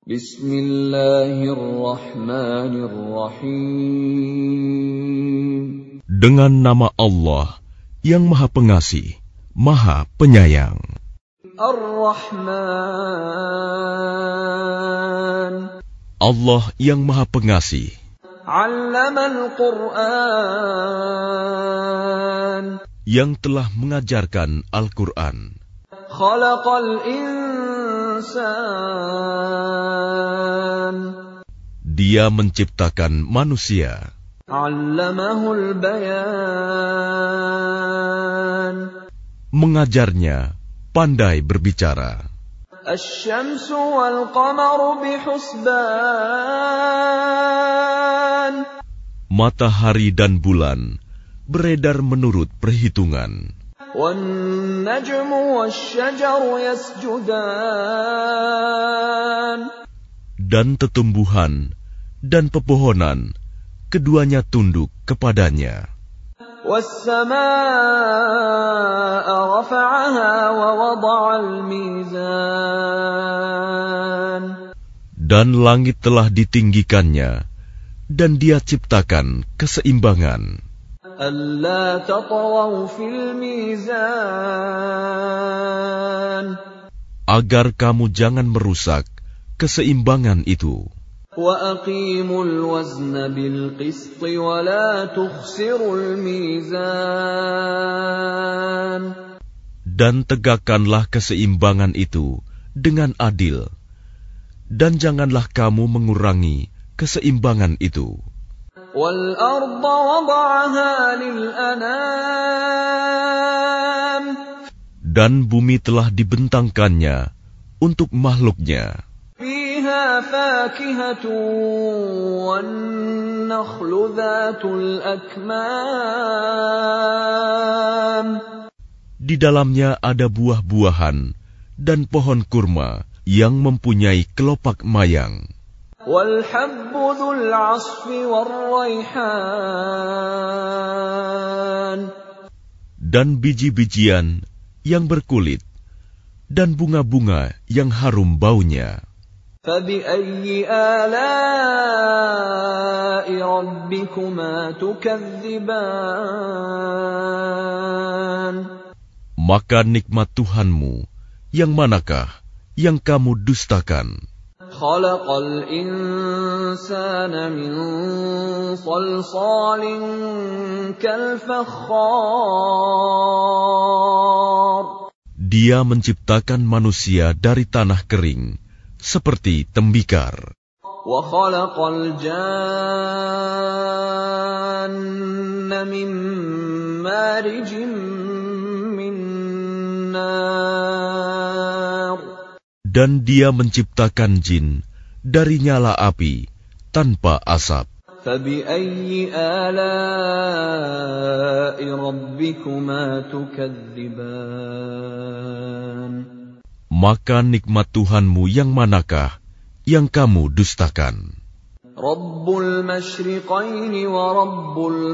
Bismillahirrahmanirrahim. Dengan nama Allah yang Maha Pengasih, Maha Penyayang. Ar-Rahman. Allah yang Maha Pengasih. 'Allamal Qur'an. Yang telah mengajarkan Al-Quran. Khalaqal insan. Dia menciptakan manusia. 'Allamahul bayan. Mengajarnya pandai berbicara. Asy-syamsu wal qamaru bihusban. Matahari dan bulan beredar menurut perhitungan. Wan najmu wasy-syajaru yasjudan. Dan tetumbuhan dan pepohonan keduanya tunduk kepadanya. Was-samaa'a rafa'aha wa wada'al mizan. Dan langit telah ditinggikannya, dan Dia ciptakan keseimbangan. Alla tatghaw fil mizan. Agar kamu jangan merusak keseimbangan itu. Wa aqimul wazna bil qist wa la tukhsirul mizan. Dan tegakkanlah keseimbangan itu dengan adil, dan janganlah kamu mengurangi keseimbangan itu. Wal arda wada'aha lil anam. Dan bumi telah dibentangkannya untuk makhluknya. Fiha fakihatun wan nakhlu dhatul akmam. Di dalamnya ada buah-buahan dan pohon kurma yang mempunyai kelopak mayang. Wal habbu dzul 'asfi war raihan. Dan biji-bijian yang berkulit dan bunga-bunga yang harum baunya. فَبِأَيِّ آلَاءِ رَبِّكُمَا تُكَذِّبَانِ. Maka nikmat Tuhanmu yang manakah yang kamu dustakan? خَلَقَ الْإِنسَانَ مِنْ صَلْصَالٍ كَالْفَخَّارِ. Dia menciptakan manusia dari tanah kering, seperti tembikar. وَخَلَقَ الْجَانَّ مِنْ مَارِجٍ مِنْ نَارٍ. Dan Dia menciptakan jin dari nyala api tanpa asap. فَبِأَيِّ آلَاءِ رَبِّكُمَا تُكَذِّبَانِ. Maka nikmat Tuhanmu yang manakah yang kamu dustakan? Rabbul masyriqaini wa rabbul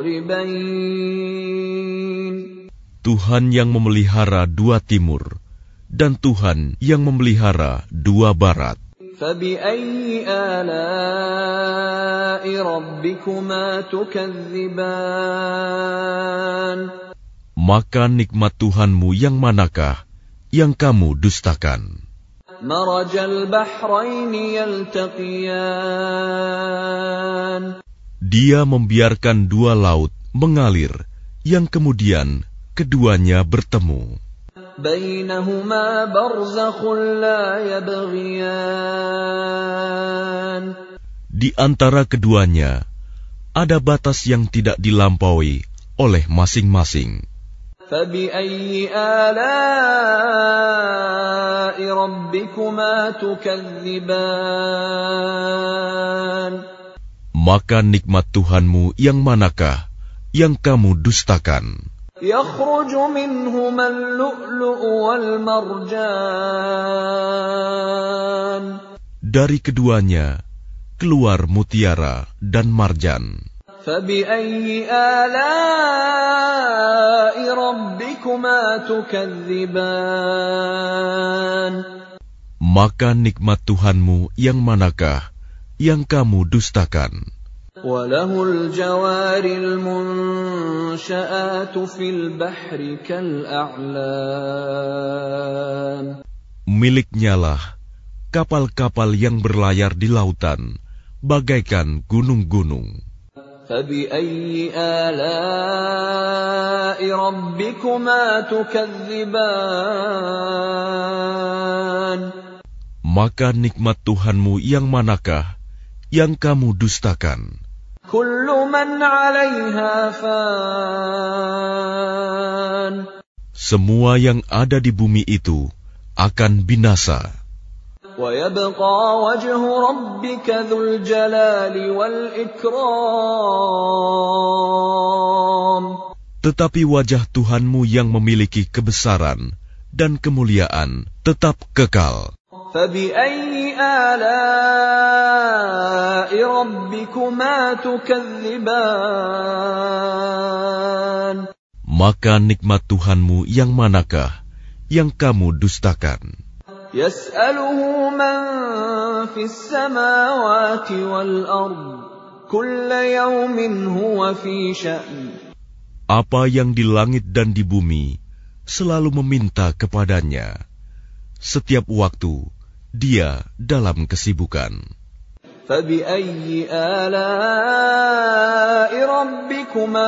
maghribain. Tuhan yang memelihara dua timur dan Tuhan yang memelihara dua barat. فَبِأَيِّ آلَاءِ رَبِّكُمَا تُكَذِّبَانِ. Maka nikmat Tuhanmu yang manakah yang kamu dustakan? Marajal bahraini yaltaqiyan. Dia membiarkan dua laut mengalir, yang kemudian keduanya bertemu. Bainahuma barzakhun la yabghiyan. Di antara keduanya ada batas yang tidak dilampaui oleh masing-masing. فَبِأَيِّ آلَاءِ رَبِّكُمَا تُكَذِّبَانِ. Maka nikmat Tuhanmu yang manakah yang kamu dustakan? يَخْرُجُ مِنْهُمَا اللُّؤْلُؤُ وَالْمَرْجَانُ. Dari keduanya keluar mutiara dan marjan. فَبِأَيِّ آلَاءِ رَبِّكُمَا تُكَذِّبَانِ. Maka nikmat Tuhanmu yang manakah yang kamu dustakan? وَلَهُ الْجَوَارِ الْمُنشَآتُ فِي الْبَحْرِ كَالْأَعْلَامِ. Miliknyalah kapal-kapal yang berlayar di lautan, bagaikan gunung-gunung. فَبِأَيِّ آلَاءِ رَبِّكُمَا تُكَذِّبَانِ. Maka nikmat Tuhanmu yang manakah yang kamu dustakan? كُلُّ مَنْ عَلَيْهَا فَانٍ. Semua yang ada di bumi itu akan binasa. وَيَبْقَى وَجْهُ رَبِّكَ ذُو الْجَلَالِ وَالْإِكْرَامِ. Tetapi wajah Tuhanmu yang memiliki kebesaran dan kemuliaan tetap kekal. فَبِأَيِّ آلَاءِ رَبِّكُمَا تُكَذِّبَانِ. Maka nikmat Tuhanmu yang manakah yang kamu dustakan? يَسْأَلُهُ مَنْ فِي السَّمَاوَاتِ وَالْأَرْضِ كُلَّ يَوْمٍ هُوَ فِي شَأْنٍ. Apa yang di langit dan di bumi selalu meminta kepadanya. Setiap waktu dia dalam kesibukan. فَبِأَيِّ آلَاءِ رَبِّكُمَا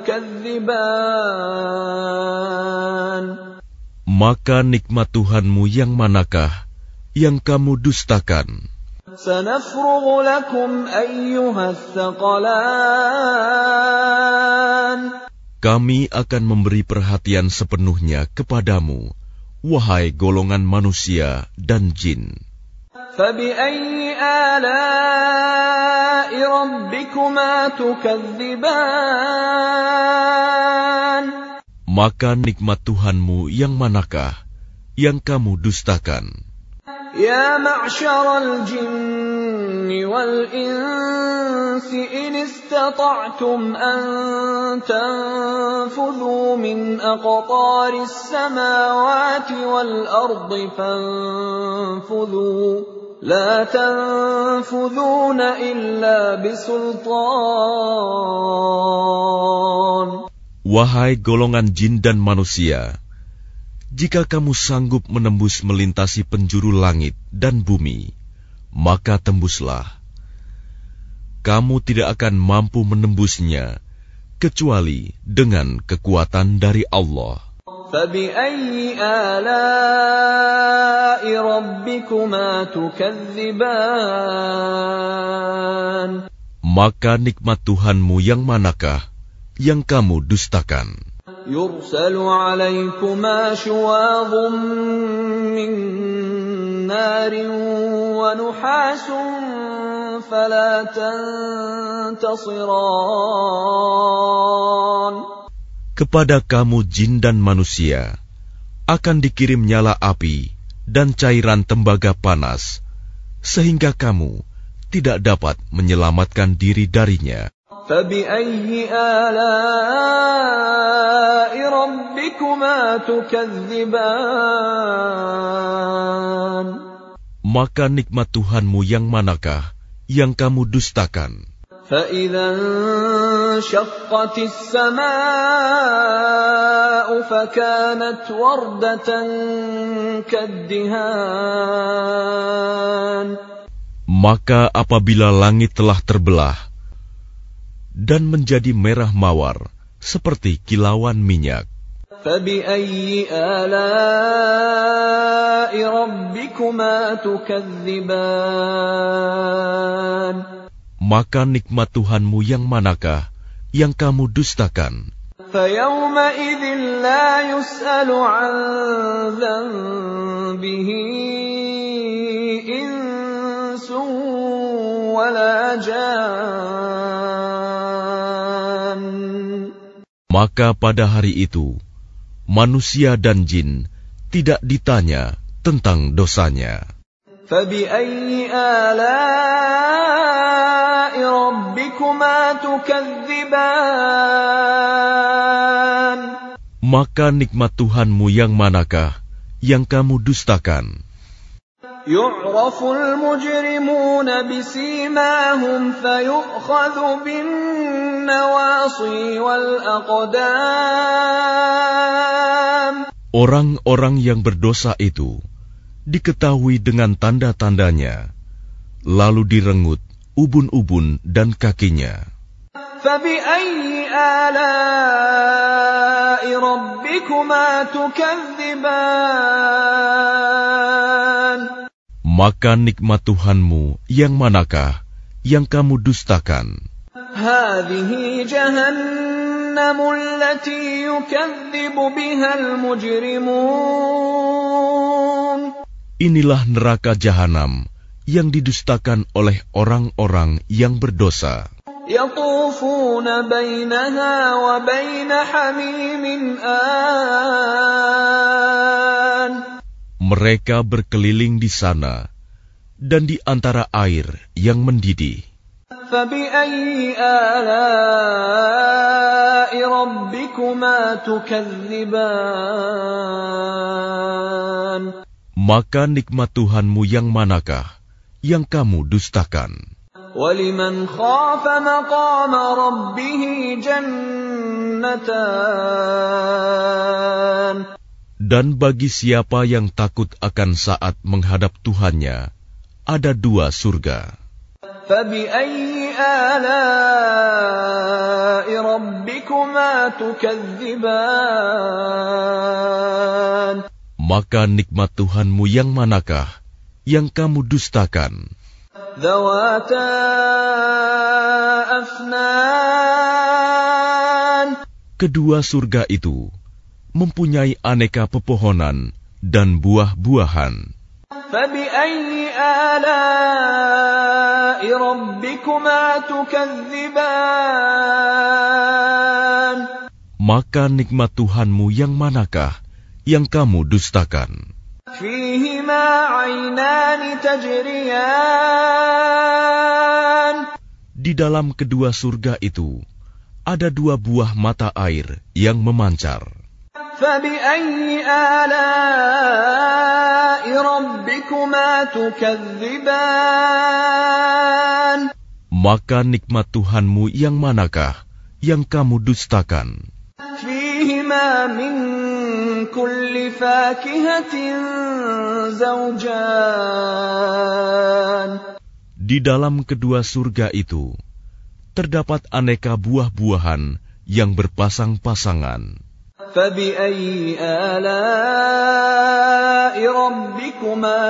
تُكَذِّبَانِ. Maka nikmat Tuhanmu yang manakah yang kamu dustakan? سَنَفْرُغُ لَكُمْ أَيُّهَا الثَّقَلَانِ. Kami akan memberi perhatian sepenuhnya kepadamu, wahai golongan manusia dan jin. فَبِأَيِّ آلَاءِ رَبِّكُمَا تُكَذِّبَانِ. Maka nikmat Tuhanmu yang manakah yang kamu dustakan? يَا مَعْشَرَ الْجِنِّ وَالْإِنسِ إِنِ اسْتَطَعْتُمْ أَن تَنفُذُوا مِنْ أَقْطَارِ السَّمَاوَاتِ وَالْأَرْضِ فَانفُذُوا لَا تَنفُذُونَ إِلَّا بِسُلْطَانٍ. Wahai golongan jin dan manusia, jika kamu sanggup menembus melintasi penjuru langit dan bumi, maka tembuslah. Kamu tidak akan mampu menembusnya, kecuali dengan kekuatan dari Allah. فَبِأَيِّ آلَاءِ رَبِّكُمَا تُكَذِّبَانِ. Maka nikmat Tuhanmu yang manakah yang kamu dustakan? يُرْسَلُ عَلَيْكُمَا شُوَاظٌ مِّن نَّارٍ وَنُحَاسٌ فَلَا تَنتَصِرَانِ. Kepada kamu jin dan manusia akan dikirim nyala api dan cairan tembaga panas, sehingga kamu tidak dapat menyelamatkan diri darinya. فَبِأَيِّ آلَاءِ رَبِّكُمَا تُكَذِّبَانِ. Maka nikmat Tuhanmu yang manakah yang kamu dustakan? فَإِذَا انشَقَّتِ السَّمَاءُ فَكَانَتْ وَرْدَةً كَالدِّهَانِ. Maka apabila langit telah terbelah dan menjadi merah mawar seperti kilauan minyak, فَبِأَيِّ آلَاءِ رَبِّكُمَا تُكَذِّبَانِ. Maka nikmat Tuhanmu yang manakah yang kamu dustakan? فَيَوْمَئِذٍ لَا يُسْأَلُ عَنْ ذَنبِهِ إِنسٌ وَلَا جَانٌّ. Maka pada hari itu, manusia dan jin tidak ditanya tentang dosanya. فَبِأَيِّ آلَاءِ رَبِّكُمَا تُكَذِّبَانِ. Maka nikmat Tuhanmu yang manakah yang kamu dustakan? يُعْرَفُ الْمُجْرِمُونَ بِسِيمَاهُمْ فَيُؤْخَذُ بِالنَّوَاصِي وَالْأَقْدَامِ. Orang-orang yang berdosa itu diketahui dengan tanda-tandanya, lalu direngut ubun-ubun dan kakinya. فَبِأَيِّ آلَاءِ رَبِّكُمَا تُكَذِّبَانِ. Maka nikmat Tuhanmu yang manakah yang kamu dustakan? هَذِهِ جَهَنَّمُ الَّتِي يُكَذِّبُ بِهَا الْمُجْرِمُونَ. Inilah neraka jahanam yang didustakan oleh orang-orang yang berdosa. يَطُوفُونَ بَيْنَهَا وَبَيْنَ حَمِيمٍ آنٍ. Mereka berkeliling di sana dan di antara air yang mendidih. فَبِأَيِّ آلَاءِ رَبِّكُمَا تُكَذِّبَانِ. Maka nikmat Tuhanmu yang manakah yang kamu dustakan? وَلِمَنْ خَافَ مَقَامَ رَبِّهِ جَنَّتَانِ. Dan bagi siapa yang takut akan saat menghadap Tuhannya, ada 2 surga. فَبِأَيِّ آلَاءِ رَبِّكُمَا تُكَذِّبَانِ. Maka nikmat Tuhanmu yang manakah yang kamu dustakan? ذَوَاتَا أَفْنَانٍ. Kedua surga itu mempunyai aneka pepohonan dan buah-buahan. فَبِأَيِّ آلَاءِ رَبِّكُمَا تُكَذِّبَانِ. Maka nikmat Tuhanmu yang manakah yang kamu dustakan? فِيهِمَا عَيْنَانِ تَجْرِيَانِ. Di dalam kedua surga itu ada 2 buah mata air yang memancar. فَبِأَيِّ آلَاءِ رَبِّكُمَا تُكَذِّبَانِ. Maka nikmat Tuhanmu yang manakah yang kamu dustakan? فِيهِمَا مِن كُلِّ فَاكِهَةٍ زَوْجَانِ. Di dalam kedua surga itu terdapat aneka buah-buahan yang berpasang-pasangan. فَبِأَيِّ آلَاءِ رَبِّكُمَا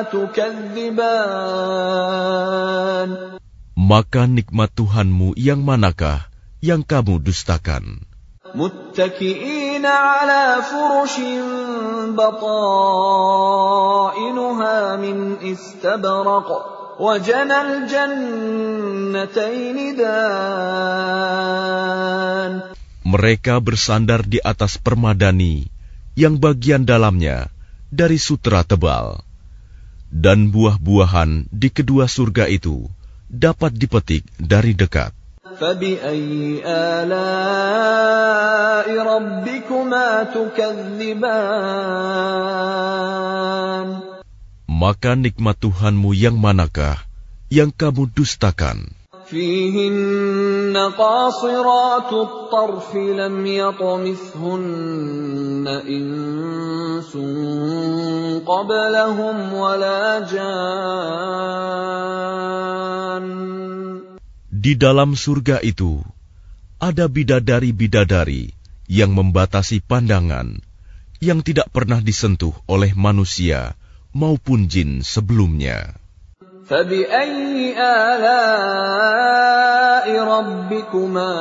تُكَذِّبَانِ. Maka nikmat Tuhanmu yang manakah yang kamu dustakan? مُتَّكِئِينَ عَلَى فُرُشٍ بَطَائِنُهَا مِنْ إِسْتَبْرَقٍ وَجَنَى الْجَنَّتَيْنِ دَانٍ. Mereka bersandar di atas permadani yang bagian dalamnya dari sutera tebal, dan buah-buahan di kedua surga itu dapat dipetik dari dekat. فَبِأَيِّ آلَاءِ رَبِّكُمَا تُكَذِّبَانِ. Maka nikmat Tuhanmu yang manakah yang kamu dustakan? فِيهِنَّ قَاصِرَاتُ الطَّرْفِ لَمْ يَطْمِثْهُنَّ إِنسٌ قَبْلَهُمْ وَلَا جَانٌّ. Di dalam surga itu ada bidadari-bidadari yang membatasi pandangan, yang tidak pernah disentuh oleh manusia maupun jin sebelumnya. فَبِأَيِّ آلَاءِ رَبِّكُمَا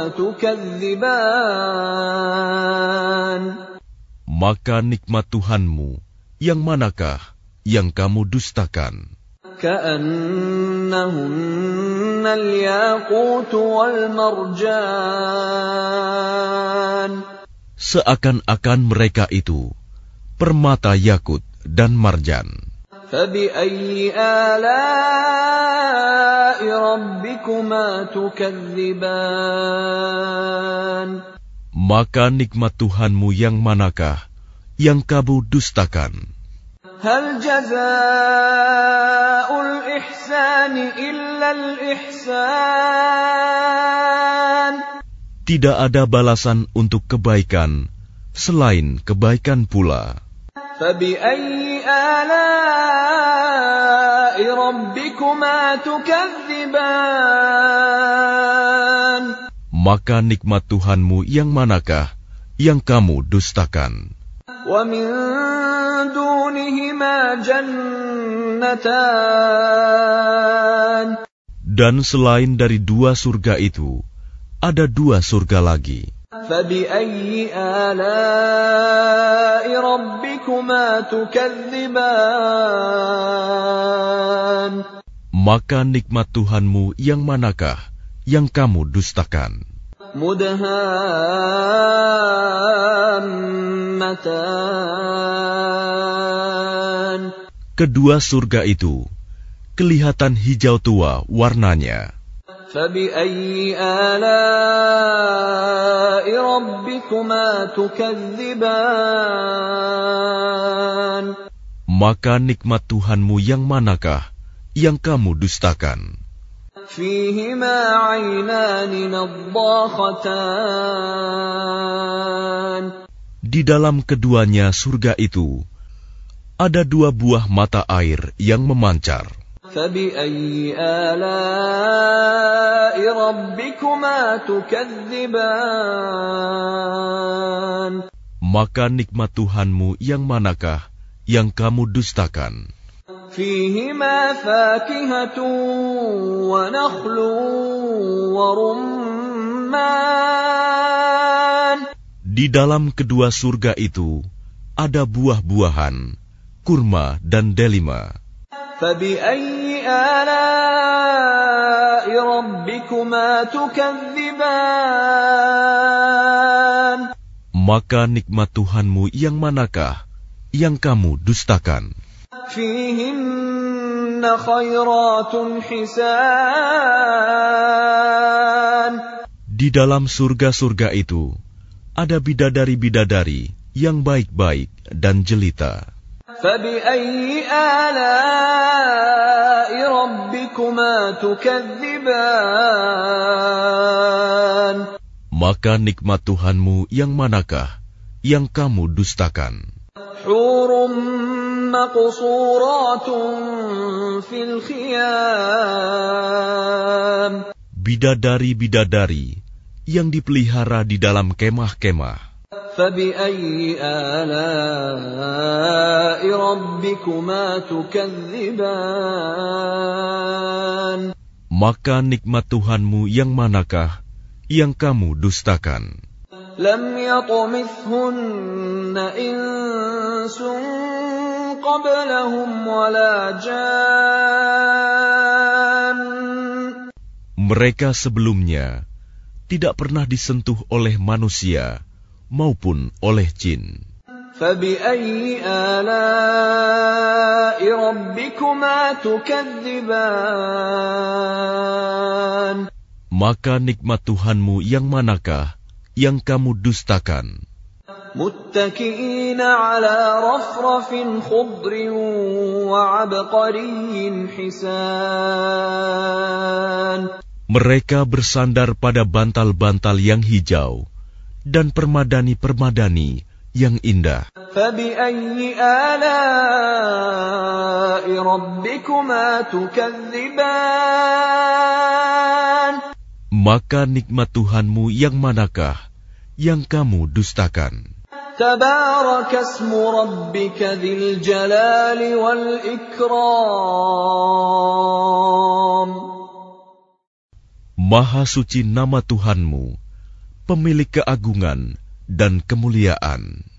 تُكَذِّبَانِ. Maka nikmat Tuhanmu yang manakah yang kamu dustakan? كَأَنَّهُنَّ الْيَاقُوتُ وَالْمَرْجَانُ. Seakan-akan mereka itu permata yakut dan marjan. فَبِأَيِّ آلَاءِ رَبِّكُمَا تُكَذِّبَانِ. Maka nikmat Tuhanmu yang manakah yang kamu dustakan? هل جزاء الإحسان إلا الإحسان. Tidak ada balasan untuk kebaikan selain kebaikan pula. فبأي آلاء ربكما تكذبان. Maka nikmat Tuhanmu yang manakah yang kamu dustakan? ومن دونهما جنتان. Dan selain dari dua surga itu, ada dua surga lagi. فبأي آلاء ربكما تكذبان. Maka nikmat Tuhanmu yang manakah yang kamu dustakan? مدهامتان. Kedua surga itu kelihatan hijau tua warnanya. فبأي آلاء ربكما تكذبان. Maka nikmat Tuhanmu yang manakah yang kamu dustakan? فيهما عينان نضاختان. Di dalam keduanya surga itu ada dua buah mata air yang memancar. فبأي آلاء ربكما تكذبان. Maka nikmat Tuhanmu yang manakah yang kamu dustakan? فيهما فاكهة ونخل ورمان. Di dalam kedua surga itu ada buah-buahan, kurma dan delima. فبأي آلاء ربكما تكذبان. Maka nikmat Tuhanmu yang manakah yang kamu dustakan? فيهن خيرات حسان. Di dalam surga-surga itu ada bidadari-bidadari yang baik-baik dan jelita. فبأي آلاء ربكما تكذبان. Maka nikmat Tuhanmu yang manakah yang kamu dustakan? حور مقصورات في الخيام. Bidadari-bidadari yang dipelihara di dalam kemah-kemah. فبأي آلاء ربكما تكذبان. Maka nikmat Tuhanmu yang manakah yang kamu dustakan? لم يطمثهن إنس قبلهم ولا جان. Mereka sebelumnya tidak pernah disentuh oleh manusia maupun oleh jin. فبأي آلاء ربكما تكذبان. Maka nikmat Tuhanmu yang manakah yang kamu dustakan? متكئين على رفرف خضر وعبقري حسان. Mereka bersandar pada bantal-bantal yang hijau dan permadani-permadani yang indah. فبأي آلاء ربكما تكذبان. Maka nikmat Tuhanmu yang manakah yang kamu dustakan? تبارك اسم ربك ذي الجلال والإكرام. Maha suci nama Tuhanmu, pemilik keagungan dan kemuliaan.